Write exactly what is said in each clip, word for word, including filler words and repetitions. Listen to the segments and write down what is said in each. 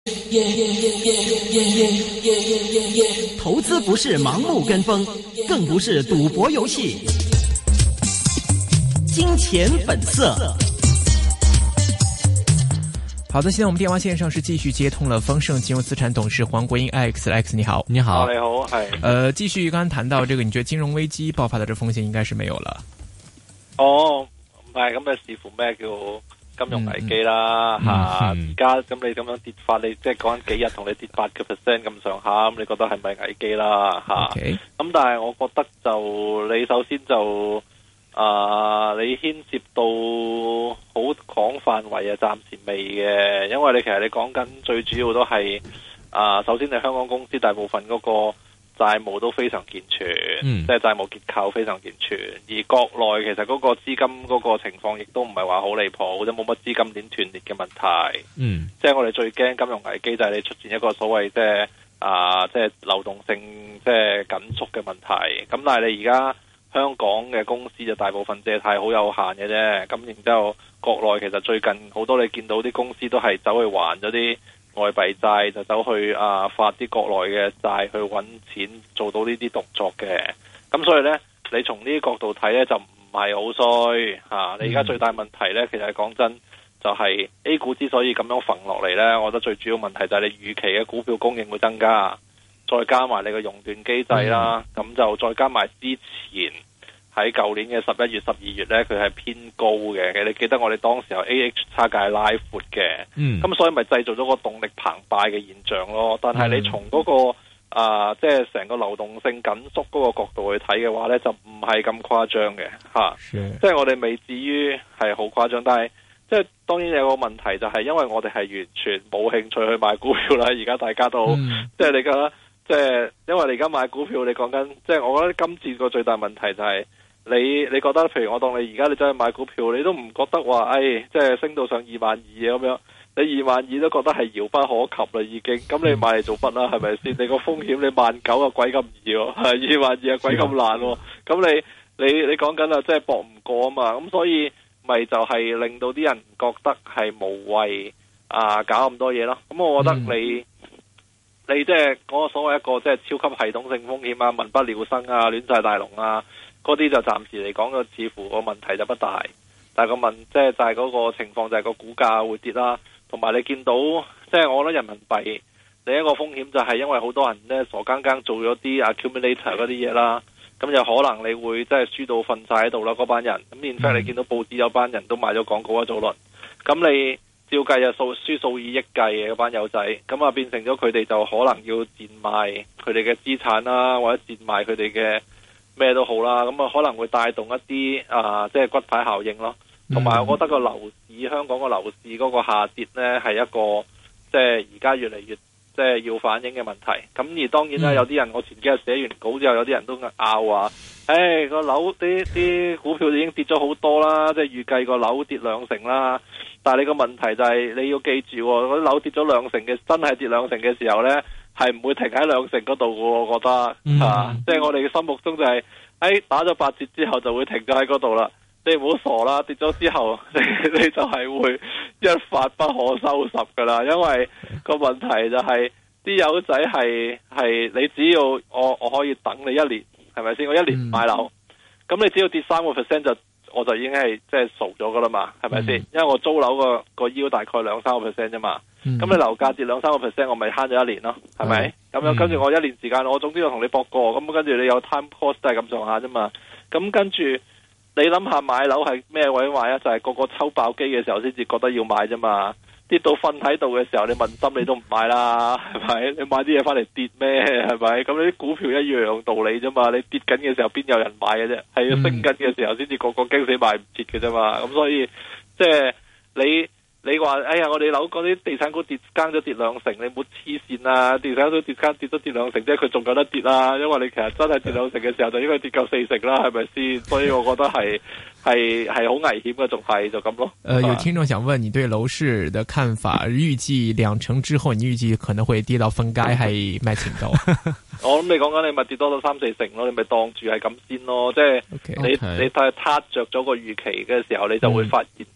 投資不是盲目跟風，更不是賭博遊戲。金錢本色。 好的，現在我們電話線上是繼續接通了豐盛金融資產董事黃國英 Alex，Alex 你好， 你好， 你好，係。 呃，繼續剛剛談到這個，你覺得金融危機爆發的這風險應該是沒有了？ 哦，唔係，咁你視乎咩叫金融危機啦吓，而家咁你咁樣跌法，你即係講緊幾日同你跌八個 percent 咁上下，咁你覺得係咪危機啦吓？咁 Okay. 但係我覺得就你首先就啊、呃，你牽涉到好廣範圍啊，暫時未嘅，因為你其實你講緊最主要都係啊、呃，首先你香港公司大部分嗰個債務都非常健全，嗯、即係債務結構非常健全，而國內其實嗰個資金嗰個情況亦都唔係話好離譜，或者冇乜資金鏈斷裂嘅問題。嗯，即係我哋最驚金融危機就係你出現一個所謂即係啊，即係流動性即係緊縮嘅問題。咁但係你而家香港嘅公司就大部分借貸好有限嘅啫。咁然之後國內其實最近好多你見到啲公司都係走去還咗啲外幣債，就走去啊發啲國內嘅債去揾錢，做到呢啲動作嘅。咁所以呢，你從呢啲角度睇呢，就唔係好衰吓。你而家最大問題呢，其實係講真，就係 A 股之所以咁樣揈落嚟呢，我覺得最主要問題就係你預期嘅股票供應會增加，再加埋你個熔斷機制啦，咁、嗯、就再加埋之前喺舊年嘅十一月、十二月呢，佢係偏高嘅。你記得我哋當時候 A H 差價拉闊嘅，咁、嗯、所以咪製造咗個動力澎湃嘅現象咯。但係你從嗰、那個啊，即係成個流動性緊縮嗰個角度去睇嘅話呢，就唔係咁誇張嘅吓。即係我哋未至於係好誇張，但係即係當然有個問題就係，因為我哋係完全冇興趣去買股票啦。而家大家都、嗯、即係你覺得，即係因為你而家買股票，你講緊即係我覺得今次個最大問題就係、是。你你覺得，譬如我當你而家你走去買股票，你都唔覺得話，誒，即係升到上二萬二咁樣，你二萬二都覺得係遙不可及啦，已經。咁你買嚟做乜啦？係咪先？你個風險你萬九啊，鬼咁易喎，係二萬二啊，鬼咁難喎。咁你你你講緊啊，即係搏唔過啊嘛。咁所以咪就係令到啲人覺得係無謂啊，搞咁多嘢咯。咁我覺得你、嗯、你即係嗰個所謂一個即係超級系統性風險啊，民不聊生啊，亂晒大龍啊。嗰啲就暫時嚟講，個似乎個問題就不大，但係個問即係就係嗰個情況就係個股價會跌啦，同埋你見到即係我覺得人民幣另一個風險就係因為好多人呢傻更更做咗啲 accumulator 嗰啲嘢啦，咁有可能你會即係輸到瞓晒喺度啦嗰班人，咁然之後你見到報紙有班人都買咗廣告一早輪，咁你照計就數輸數以億計嘅嗰班友仔，咁啊變成咗佢哋就可能要賤賣佢哋嘅資產啦，或者賤賣佢哋嘅咩都好啦，咁啊可能會帶動一啲啊，即係骨牌效應咯。同埋我覺得個樓市，香港個樓市嗰個下跌呢，係一個即係而家越嚟越即係要反映嘅問題。咁而當然啦，有啲人我前幾日寫完稿之後，有啲人都拗話，誒個樓啲啲股票已經跌咗好多啦，即係預計個樓跌兩成啦。但係你個問題就係你要記住，嗰啲樓跌咗兩成嘅，真係跌兩成嘅時候呢，係唔會停喺兩成嗰度嘅，我覺得、嗯、啊，即係我哋嘅心目中就係、是，誒、哎、打咗八折之後就會停咗喺嗰度啦。你唔好傻啦，跌咗之後你你就係會一發不可收拾噶啦。因為個問題就係啲友仔係係你只要我我可以等你一年，係咪先？我一年唔買樓，咁、嗯、你只要跌三個 percent 就我就已經係即係傻咗噶啦嘛，係咪先？因為我租樓個個腰大概兩三個 percent 啫嘛。咁、嗯、你樓價跌兩三個 percent， 我咪慳咗一年咯，係咪？咁、嗯、樣跟住我一年時間，我總之我同你搏過，咁跟住你有 time cost 都係咁上下啫嘛。咁跟住你諗下買樓係咩位買啊？就係、是、個個抽爆機嘅時候先至覺得要買啫嘛。跌到瞓喺度嘅時候，你問心你都唔買啦，係咪？你買啲嘢翻嚟跌咩？係咪？咁你啲股票一樣道理啫嘛。你跌緊嘅時候邊有人買嘅啫？係要升緊嘅時候先至個個驚死買唔切嘅啫嘛。咁所以即係你。你話哎呀，我哋樓嗰啲地產股跌更咗跌兩成，你冇黐線啊！地產股跌更跌都跌兩成，即係佢仲有得跌啦。因為你其實真係跌兩成嘅時候，就應該跌夠四成啦，係咪先？所以我覺得係係係好危險嘅，仲係就咁咯。誒、呃， 有聽眾想問你對樓市的看法，預計兩成之後，你預計可能會跌到分街係咩程度？ 我諗你講緊你咪跌多到三四成咯，你咪當住係咁先咯。即係 okay, 你 okay. 你睇撻着咗個預期嘅時候，你就會發現。嗯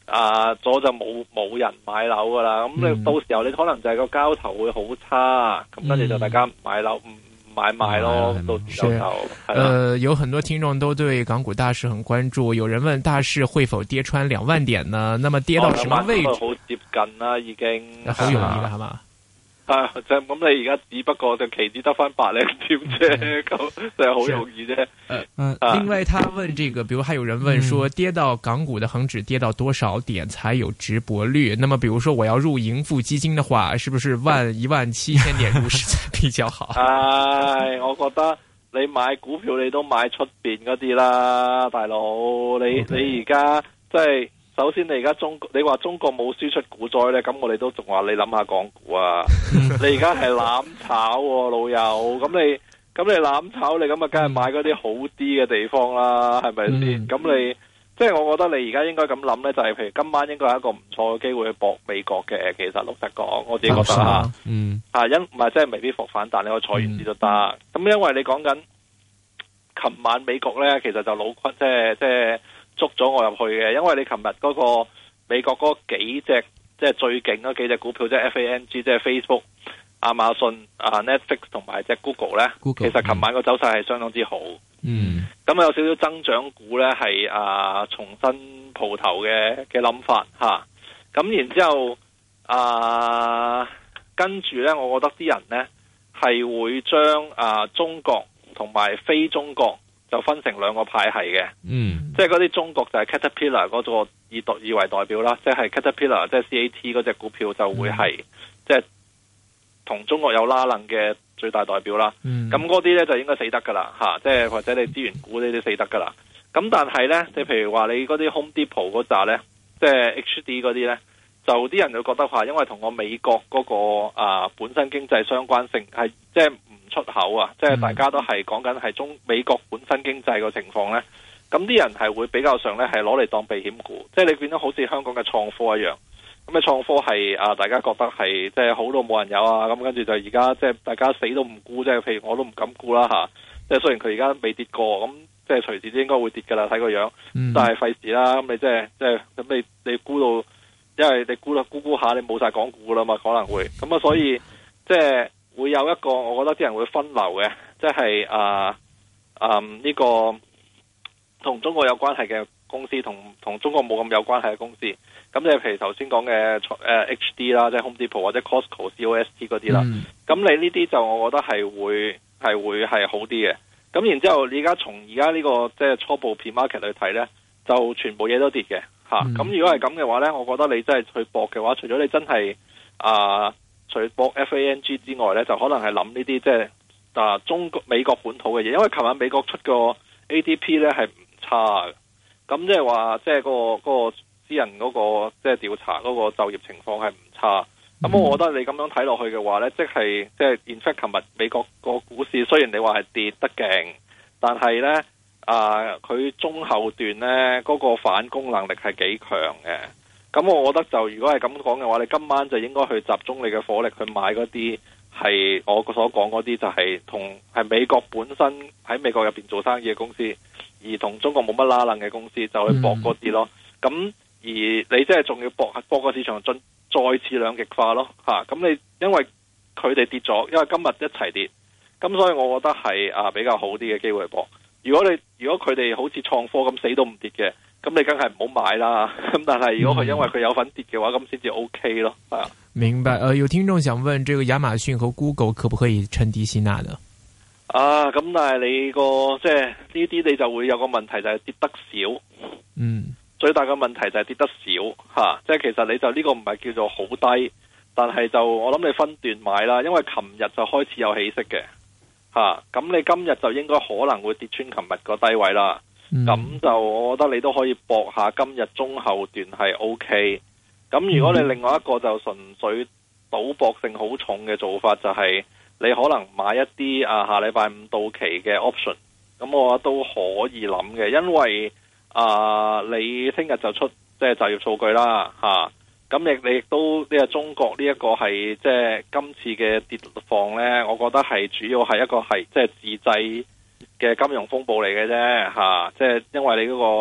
啊咗就冇冇人買樓噶啦。咁你到時候你可能就係個交投會好差，咁跟住就大家唔買樓唔。買賣咯，到時就就呃，有很多聽眾都對港股大市很關注，有人問大市會否跌穿兩萬點呢？那麼跌到什麼位置？ 好接近啦，已經好容易啦，係嘛？ 啊，就咁你而家只不過就期指得翻百零點啫，咁就係好容易啫。 嗯嗯、呃，另外他問這個，比如還有人問說，跌到港股的恒指跌到多少點才有值博率？那麼，比如說我要入盈富基金的話，是不是萬一萬七千點入市才比較好？ 唉，我覺得你買股票你都買出邊嗰啲啦，大佬，你 Okay. 你而家即係。首先你而家中國，你話中國冇輸出股災呢，咁我哋都仲話你諗下港股啊！你而家係攬炒喎，老友，咁你咁你攬炒你咁啊，梗係買嗰啲好啲嘅地方啦，係咪先？咁、嗯、你即係我覺得你而家應該咁諗呢，就係、是、譬如今晚應該係一個唔錯嘅機會去搏美國嘅。其實老實講，我自己覺得吓，嗯，啊因唔係即係未必復反彈，但你可以坐完啲都得。咁、嗯、因為你講緊琴晚美國呢，其實就老坤即係即係。捉咗我入去嘅，因為你琴日嗰個美國嗰幾隻即係最勁嗰幾隻股票，即係 F A N G，即係 Facebook、亞馬遜、啊 Netflix 同埋隻 Google 咧，Google, 其實琴晚個走勢係相當之好。嗯，咁有少少增長股咧係啊重新蒲頭嘅嘅諗法吓，咁、啊、然之後啊跟住咧，我覺得啲人咧係會將啊中國同埋非中國。就分成兩個派系嘅，嗯，即係嗰啲中國就係 Caterpillar 嗰個以代以為代表啦，即係 Caterpillar 即係 C A T 嗰隻股票就會係、嗯、即係同中國有拉楞嘅最大代表啦。咁嗰啲咧就應該死得噶啦嚇，即係或者你資源股呢啲死得噶啦。咁但係咧，你譬如話你嗰啲 Home Depot 嗰扎咧，即係 H D 嗰啲咧，就啲人就覺得話，因為同我美國嗰、嗰個啊本身經濟相關性係即係。出口啊，即係大家都係講緊係中美國本身經濟個情況呢。咁啲人係會比較上呢係攞嚟當避險股，即係你變咗好似香港嘅創科一樣，咁嘅創科係啊大家覺得係即係好到冇人有啊，咁跟住就而家即係大家死都唔沽，即係譬如我都唔敢沽啦吓，即係雖然佢而家未跌過，咁即係隨時都應該會跌噶啦，睇個樣，嗯、但係費事啦，咁你即係即係咁你你沽到，因為你沽啦沽沽下你冇晒港股啦嘛，可能會，咁啊所以即係。會有一個，我覺得啲人會分流嘅，即係啊啊呢個同中國有關係嘅公司，同同中國冇咁有關係嘅公司。咁即係譬如頭先講嘅誒 H D 啦，即係 Home Depot 或者 Costco、C O S T 嗰啲啦。咁、嗯、你呢啲就我覺得係會係會係好啲嘅。咁然之後，你而家從而家呢個即係初步 pre-market 去睇呢，就全部嘢都跌嘅嚇。咁、嗯、如果係咁嘅話呢，我覺得你真係去搏嘅話，除咗你真係啊。呃除博 F A N G 之外咧，就可能係諗呢啲即係啊中國美國本土嘅嘢，因為琴晚美國出個 A D P 咧係唔差嘅，咁即係話即係嗰個嗰個私人嗰個即係調查嗰個就業情況係唔差，咁、嗯、我覺得你咁樣睇落去嘅話咧，即係即係 in fact 琴日美國個股市雖然你話係跌得勁，但係咧啊佢中後段咧嗰個反攻能力係幾強嘅。咁我覺得就如果係咁講嘅話，你今晚就應該去集中你嘅火力去買嗰啲係我所講嗰啲就係同係美國本身喺美國入邊做生意嘅公司，而同中國冇乜拉楞嘅公司就去搏嗰啲咯。咁、嗯、而你即係仲要搏搏個市場進再次兩極化咯嚇。咁、啊、你因為佢哋跌咗，因為今日一齊跌，咁所以我覺得係啊比較好啲嘅機會搏。如果你如果佢哋好似創科咁死都唔跌嘅。咁你梗係唔好買啦，咁但係如果佢因為佢有份跌嘅話，咁先至 O K 咯，係啊。 明白，呃，有聽眾想問，這個亞馬遜和 Google 可不可以趁低吸納呢？ 啊，咁但係你個即係呢啲你就會有個問題就係跌得少，嗯，最大嘅問題就係跌得少吓、啊，即係其實你就呢個唔係叫做好低，但係就我諗你分段買啦，因為琴日就開始有起色嘅，吓、啊，咁你今日就應該可能會跌穿琴日個低位啦。咁、嗯、就我覺得你都可以搏下今日中後段係 O K。咁如果你另外一個就純粹賭博性好重嘅做法，就係你可能買一啲啊下禮拜五到期嘅 option。咁我覺得都可以諗嘅，因為啊你聽日就出即係就業數據啦吓。咁亦你亦都呢個中國呢一個係即係今次嘅跌況呢，我覺得係主要係一個係即係自製嘅金融風暴嚟嘅啫，吓、啊，即係因為你嗰個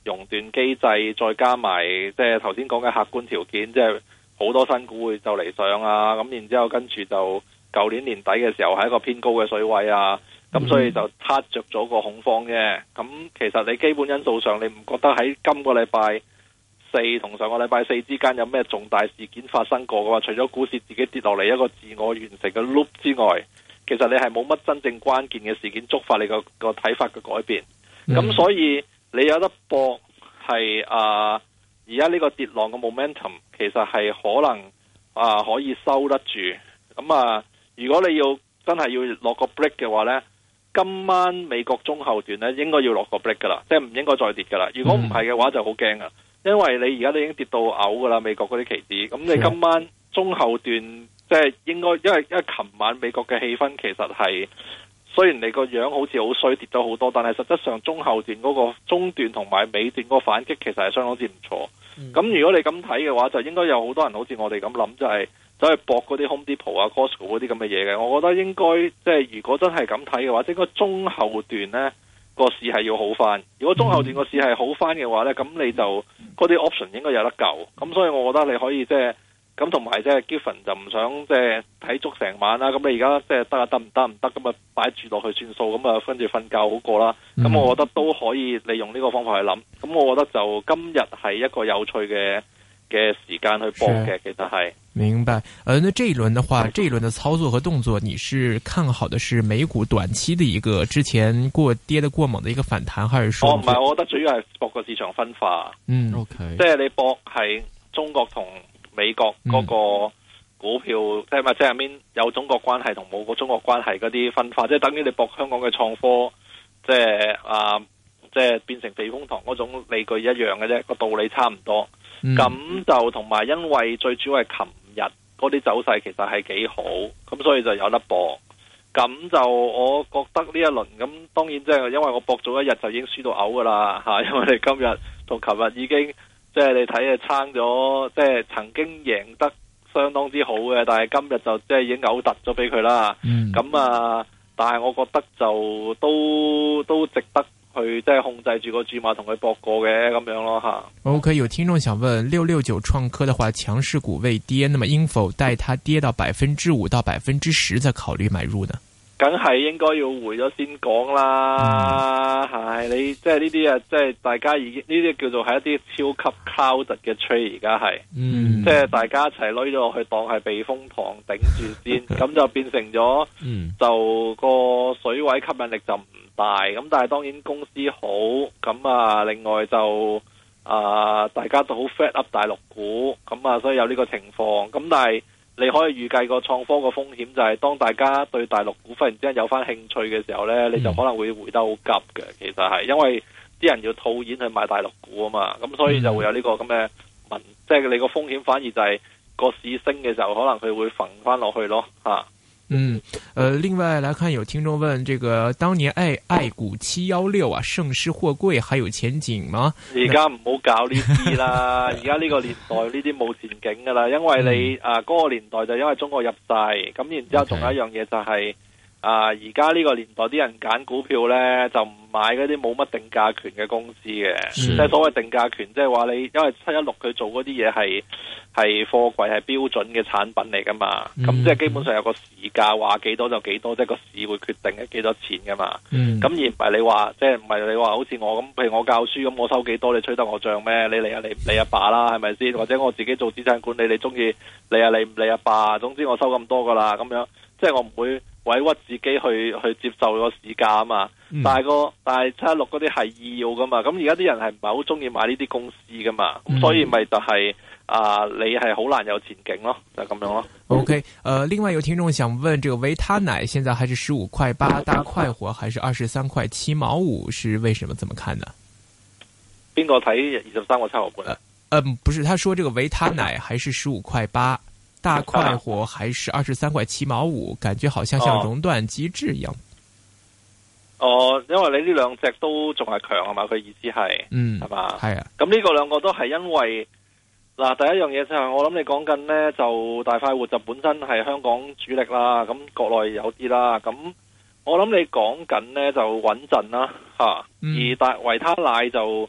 熔斷機制，再加埋即係頭先講嘅客觀條件，即係好多新股會就嚟上啊，咁然之後跟住就舊年年底嘅時候係一個偏高嘅水位啊，咁所以就撻着咗個恐慌啫。咁其實你基本因素上，你唔覺得喺今個禮拜四同上個禮拜四之間有咩重大事件發生過嘅話，除咗股市自己跌落嚟一個自我完成嘅 loop 之外，其實你係冇乜真正關鍵嘅事件觸發你個個睇法嘅改變。咁、嗯、所以你有得搏係啊，而家呢個跌浪嘅 momentum 其實係可能啊可以收得住。咁啊，如果你要真係要落個 break 嘅話呢，今晚美國中後段呢應該要落個 break 噶啦，即係唔應該再跌噶啦。如果唔係嘅話就好驚啊，因為你而家都已經跌到嘔噶啦，美國嗰啲期指。咁你今晚中後段即係應該，因為因為琴晚美國嘅氣氛其實係雖然你個樣好似好衰跌咗好多，但係實質上中後段嗰個中段同埋尾段嗰個反擊其實係相當之唔錯。咁、嗯、如果你咁睇嘅話，就應該有好多人好似我哋咁諗，就係走去搏嗰啲 Home Depot 啊、Costco 嗰啲咁嘅嘢嘅。我覺得應該即係如果真係咁睇嘅話，應該中後段呢個市係要好翻。如果中後段個市係好翻嘅話呢，咁你就嗰啲 option 應該有得救。咁所以我覺得你可以即係。咁同埋即係 Giffen 就唔想即係睇足成晚啦。咁你而家即係得啊，得唔得唔得咁啊，擺住落去算數，咁啊跟住瞓覺好過啦。咁、嗯、我覺得都可以利用呢個方法去諗。咁我覺得就今日係一個有趣嘅嘅時間去搏嘅，其實係。 明白。呃，那這一輪的話，這一輪的操作和動作，你是看好的是美股短期的一個之前過跌得過猛的一個反彈，還是說？哦，唔係，我覺得主要係搏個市場分化。嗯 ，OK。即係你搏係中國同美國嗰個股票，嗯、即係咪即係面有中國關係同冇個中國關係嗰啲分化，即係等於你博香港嘅創科，即係啊，即係變成避風塘嗰種理據一樣嘅啫，個道理差唔多。咁、嗯、就同埋因為最主要係琴日嗰啲走勢其實係幾好，咁所以就有得博。咁就我覺得呢一輪咁，當然即係因為我博咗一日就已經輸到嘔噶啦吓，因為你今日同琴日已經。即係你睇啊，撐咗，即係曾經贏得相當之好嘅，但係今日就即係已經嘔突咗俾佢啦。咁、嗯、啊，但係我覺得就都都值得去即係控制住個注碼同佢搏過嘅咁樣咯吓。 OK， 有聽眾想問六六九創科的話，強勢股未跌，那麼應否待它跌到百分之五到百分之十再考慮買入呢？ 梗係應該要回咗先講啦，係、嗯、你即係呢啲啊，即係大家已經呢啲叫做係一啲超級 crowded 嘅 trade， 而家係，嗯、即係大家一齊攞咗落去當係避風塘頂住先，咁就變成咗，嗯、就個水位吸引力就唔大，咁但係當然公司好，咁啊另外就啊、呃、大家都好 fat up 大陸股，咁啊所以有呢個情況，咁但係。你可以預計個創科個風險就係當大家對大陸股忽然之間有翻興趣嘅時候呢，你就可能會回得好急嘅。其實係因為啲人要套現去買大陸股啊嘛，咁所以就會有呢個咁嘅問，即係你個風險反而就係個市升嘅時候，可能佢會揈翻落去咯嚇。 嗯，呃，另外來看，有聽眾問，這個當年愛愛股七幺六啊，盛世貨櫃還有前景嗎？ 而家唔好搞呢啲啦，而家呢個年代呢啲冇前景噶啦，因為你、嗯、啊嗰、那個年代就因為中國入勢，咁然之後仲有一樣嘢就係、是 okay. 啊而家呢個年代啲人揀股票呢，就唔買嗰啲冇乜定價權嘅公司嘅，即係所謂定價權，即係話你因為七一六佢做嗰啲嘢係。係貨櫃係標準嘅產品嚟噶嘛，咁、嗯、即係基本上有個市價，話幾多就幾多，即係個市會決定係幾多錢噶嘛。咁、嗯、而唔係你話，即係唔係你話好似我咁，譬如我教書咁，我收幾多你吹得我漲咩？你嚟啊，你你阿爸啦，係咪先？或者我自己做資產管理，你中意你啊，你唔你阿爸，總之我收咁多噶啦，咁樣即係我唔會委屈自己去去接受個市價啊嘛。嗯、但係個但係七一六嗰啲係要噶嘛，咁而家啲人係唔係好中意買呢啲公司噶嘛，咁、嗯、所以咪就係、是。啊，你係好難有前景咯，就咁、是、樣咯。 OK，呃，另外有聽眾想問，這個維他奶現在還是十五塊八，大快活還是二十三塊七毛五，是為什麼？怎麼看呢？ 邊個睇二十三個七毫半？ 呃，不是，他說這個維他奶還是十五塊八，大快活還是二十三塊七毛五，感覺好像像熔斷機制一樣。 哦，因為你呢兩隻都仲係強啊嘛，佢意思係，嗯，係嘛，係啊。咁呢個兩個都係因為。嗱，第一樣嘢就係我諗你講緊呢，就大快活就本身係香港主力啦，咁國內有啲啦，咁我諗你講緊呢，就穩陣啦，吓、嗯，而大維他奶就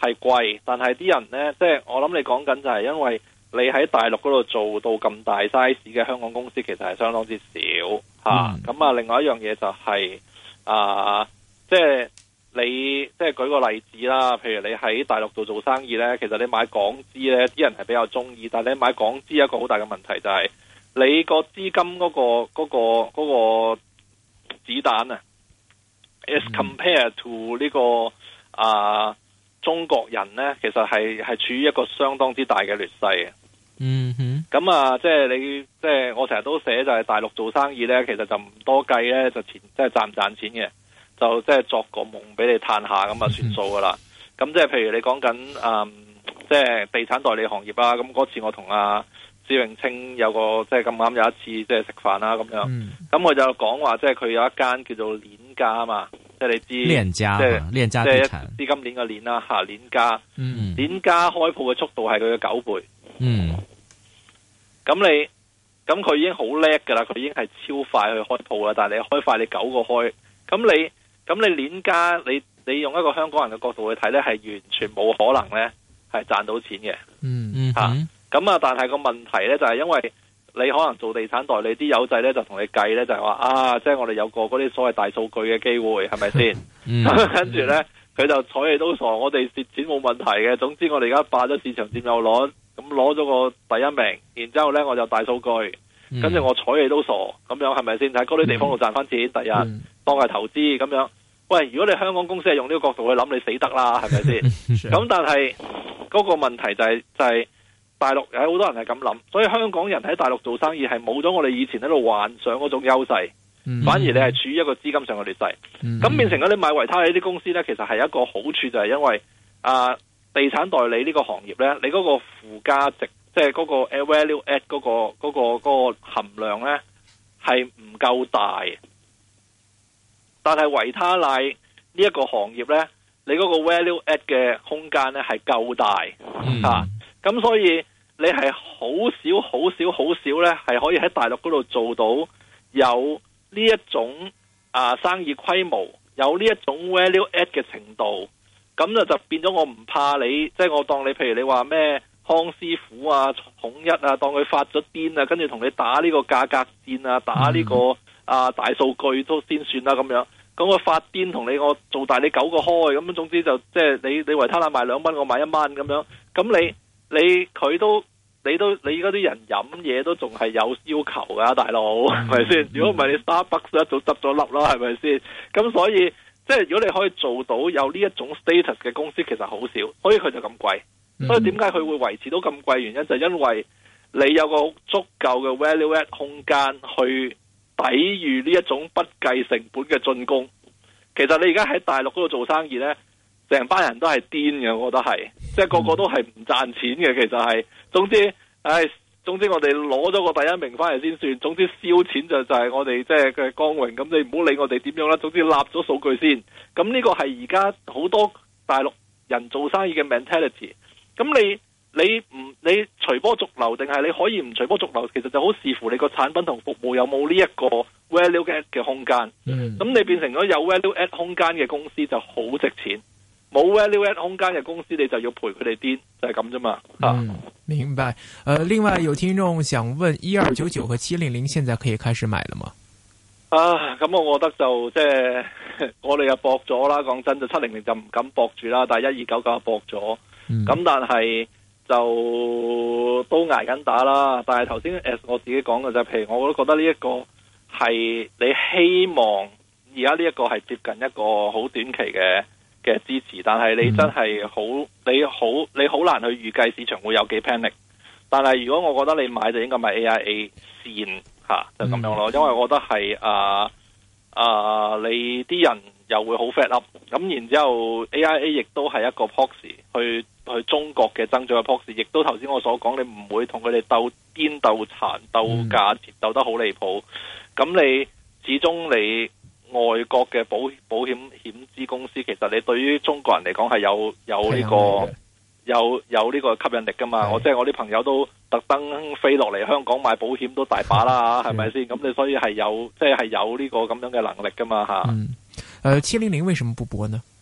係貴，但係啲人呢，即係我諗你講緊就係因為你喺大陸嗰度做到咁大 size 嘅香港公司，其實係相當之少嚇。咁、嗯、啊，另外一樣嘢就係、是、啊，即係你即係舉個例子啦，譬如你喺大陸度做生意呢，其實你買港資呢，啲人係比較中意，但係你買港資一個好大嘅問題就係、是、你個資金嗰、那個嗰、那個嗰、那個子彈啊、嗯、，as compared to 呢、這個啊。中國人呢，其實係係處於一個相當之大嘅劣勢嘅。 嗯哼， 咁啊，即係你即係我成日都寫就係大陸做生意呢，其實就唔多計呢，就錢即係賺唔賺錢嘅，就即係作個夢俾你嘆下咁啊算數噶啦。咁即係譬如你講緊誒，即係地產代理行業啊。咁嗰次我同阿施永青有個即係咁啱有一次即係食飯啦咁樣。咁佢、嗯、就講話即係佢有一間叫做鏈家啊嘛。即係你知， 鏈家， 即係鏈家地產， 資金鏈嘅鏈啦嚇，鏈家， 嗯， 鏈家開鋪嘅速度係佢嘅九倍， 嗯， 咁你咁佢已經好叻㗎啦，佢已經係超快去開鋪啦，但係你開快你九個開，咁你咁你鏈家，你你用一個香港人嘅角度去睇咧，係完全冇可能咧係賺到錢嘅， 嗯嗯嚇，咁啊，但係個問題咧就係因為。你可能做地產代理啲友仔咧就同你計咧就係話啊，即係我哋有個嗰啲所謂大數據嘅機會係咪先？咁跟住咧佢就睬你都傻，我哋蝕錢冇問題嘅。總之我哋而家霸咗市場佔有率，咁攞咗個第一名，然之後咧我就大數據，跟住我睬你都傻，咁樣係咪先？喺嗰啲地方度賺翻錢，第日當係投資咁樣。喂，如果你香港公司係用呢個角度去諗，你死得啦，係咪先？咁但係嗰個問題就係就係。大陸有好多人係咁諗，所以香港人喺大陸做生意係冇咗我哋以前喺度幻想嗰種優勢，嗯、反而你係處於一個資金上嘅劣勢。咁、嗯、變成咗你買維他利呢啲公司呢，其實係一個好處就係因為啊，地產代理呢個行業呢，你嗰個附加值，即係嗰個 value add 嗰、嗰個嗰、嗰個嗰個含量呢，係唔夠大。但係維他利呢一個行業呢，你嗰個 value add 嘅空間呢係夠大嚇，咁、嗯啊、所以。你係好少、好少、好少呢，係可以喺大陸嗰度做到有呢一種啊生意規模，有呢一種 value add 嘅程度，咁就就變咗我唔怕你，即係我當你，譬如你話咩康師傅啊、統一啊，當佢發咗癲啊，跟住同你打呢個價格戰啊，打呢個啊大數據都先算啦咁樣。咁我發癲同你我做大你九個開，咁總之就即係你你維他奶賣兩蚊，我賣一蚊咁樣，咁你。你佢都你都你而家啲人飲嘢都仲係有要求噶，大佬係咪先？如果唔係你 Starbucks 一早執咗笠啦，係咪先？咁所以即係如果你可以做到有呢一種 status 嘅公司，其實好少，所以佢就咁貴。所以點解佢會維持到咁貴？原因就係因為你有個足夠嘅 value add 空間去抵禦呢一種不計成本嘅進攻。其實你而家喺大陸嗰度做生意呢。成班人都係癲嘅，我覺得係，即係個個都係唔賺錢嘅。其實係，總之，唉，總之我哋攞咗個第一名翻嚟先算。總之燒錢就就係我哋即係嘅光榮。咁你唔好理我哋點樣啦。總之立咗數據先。咁呢個係而家好多大陸人做生意嘅 mentality。咁你你唔你隨波逐流，定係你可以唔隨波逐流？其實就好視乎你個產品同服務有冇呢一個 value add 嘅空間。咁、嗯、你變成咗有 value add 空間嘅公司就好值錢。冇 value add 空間嘅公司，你就要陪佢哋癲，就係咁啫嘛。 嗯，明白。呃，另外有聽眾想問：一二九九和七零零現在可以開始買了嗎？ 啊，咁我覺得就即係我哋又搏咗啦。講真，就七零零就唔敢搏住啦，但係一二九九就搏咗。咁、嗯、但係就都捱緊打啦。但係頭先 as 我自己講嘅就係，譬如我都覺得呢一個係你希望而家呢一個係接近一個好短期嘅。嘅支持，但係你真係好，你好，你好難去預計市場會有幾 panic。但係如果我覺得你買就應該買 A I A 線嚇、啊，就咁樣咯。因為我覺得係啊啊，你啲人又會好 fed up。咁然之後 A I A 亦都係一個 proxy 去去中國嘅增長嘅 proxy，亦都頭先我所講，你唔會同佢哋鬥癲鬥殘鬥價錢鬥得好離譜。咁你始終你。外國嘅保保險險資公司，其實你對於中國人嚟講係有有呢、這個有有呢個吸引力噶嘛？我即係我啲朋友都特登飛落嚟香港買保險都大把啦，係咪先？咁你所以係有即係係有呢個咁樣嘅能力噶嘛？吓、嗯， 誒，七零零為什麼不搏呢？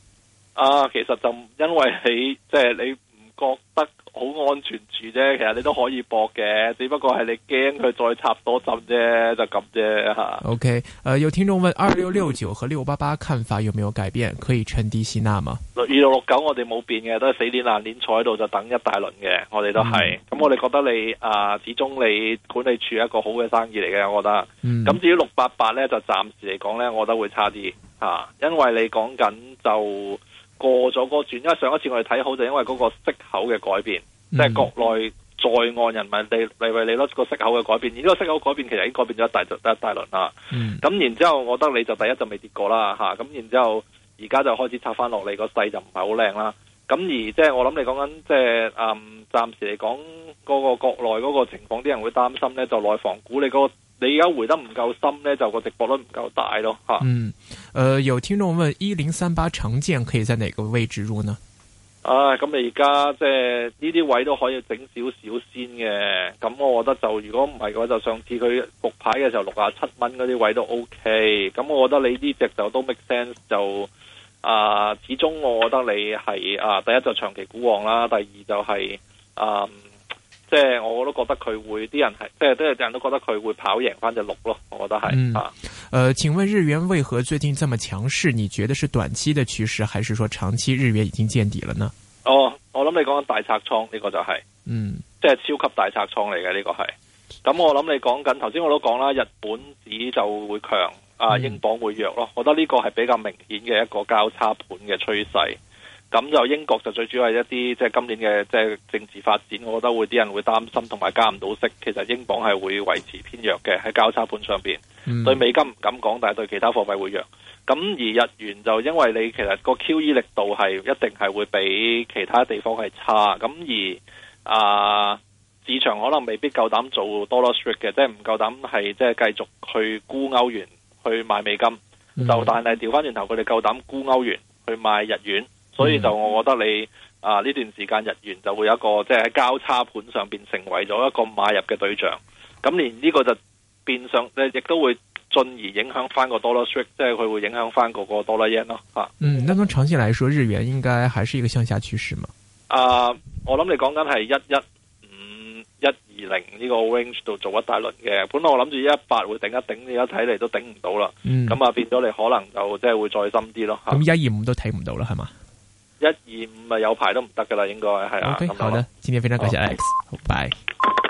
啊，其實就因為你即係、就是、你唔覺得好安全住啫，其實你都可以搏嘅，只不過係你驚佢再插多針啫，就咁啫吓。 OK， 呃，有聽眾問二六六九和六八八看法有沒有改變？可以趁低吸納嗎？ 二六六九我哋冇變嘅，都係死鏈爛鏈坐喺度就等一大輪嘅，我哋都係。咁、嗯、我哋覺得你啊、呃，始終你管理處一個好嘅生意嚟嘅，我覺得。咁、嗯、至於六八八咧，就暫時嚟講咧，我覺得會差啲吓、啊，因為你講緊就。過咗個轉，因為上一次我哋睇好就因為嗰個息口嘅改變，嗯、即係國內在岸人民幣利率利率個息口嘅改變，而呢個息口改變其實已經改變咗一大一大輪啦。咁、嗯、然之後，我覺得你就第一就未跌過啦嚇，咁然之後而家就開始插翻落嚟，個勢就唔係好靚啦。咁而即係我諗你講緊即係嗯，暫時嚟講嗰個國內嗰個情況，啲人會擔心咧，就內房股你嗰、嗰個。你而家回得唔夠深呢，就個直播率唔夠大咯吓。嗯， 呃，有聽眾問一零三八長建可以在哪個位置入呢？ 啊，咁你而家即係呢啲位都可以整少少先嘅。咁我覺得就如果唔係嘅話，就上次佢復牌嘅時候六啊七蚊嗰啲位都 OK。咁我覺得你呢隻就都 make sense 就啊，始終我覺得你係啊，第一就長期股王啦，第二就係、是、啊。即係我都覺得佢會啲人係，即係啲人都覺得佢會跑贏翻隻六咯，我覺得係、嗯、啊。 呃，請問日元為何最近這麼強勢？你覺得是短期的趨勢，還是說長期日元已經見底了呢？ 哦，我諗你講緊大拆倉呢個就係、是，嗯，即係超級大拆倉嚟嘅呢個係。咁我諗你講緊頭先我都講啦，日本紙就會強，啊，英鎊會弱咯。我覺得呢個係比較明顯嘅一個交叉盤嘅趨勢。咁就英國就最主要係一啲即係今年嘅即係政治發展，我覺得會啲人會擔心同埋加唔到息。其實英鎊係會維持偏弱嘅喺交叉盤上邊、嗯。對美金唔敢講，但係對其他貨幣會弱。咁而日元就因為你其實個 Q E 力度係一定係會比其他地方係差。咁而啊、呃、市場可能未必夠膽做 dollar strict 嘅，即係唔夠膽係即係繼續去沽歐元去買美金。嗯、就但係調翻轉頭，佢哋夠膽沽歐元去買日元。所以就我覺得你啊呢段時間日元就會有一個即係喺交叉盤上邊成為咗一個買入嘅對象，咁連呢個就變相咧，亦都會進而影響翻個 dollar strength，即係佢會影響翻嗰個 dollar yen 咯吓。嗯， 那從長期來說，日元應該還是一個向下趨勢嘛？ 啊，我諗你講緊係一一五一二零呢個 range 度做一大輪嘅，本來我諗住一一八會頂一頂，而家睇嚟都頂唔到啦。嗯，咁啊變咗你可能就即係會再深啲咯。 咁一二五都睇唔到啦，係嘛？ 一二五咪有排都唔得噶啦，應該係啊。 OK，好的，今天非常感謝 Alex，好，拜。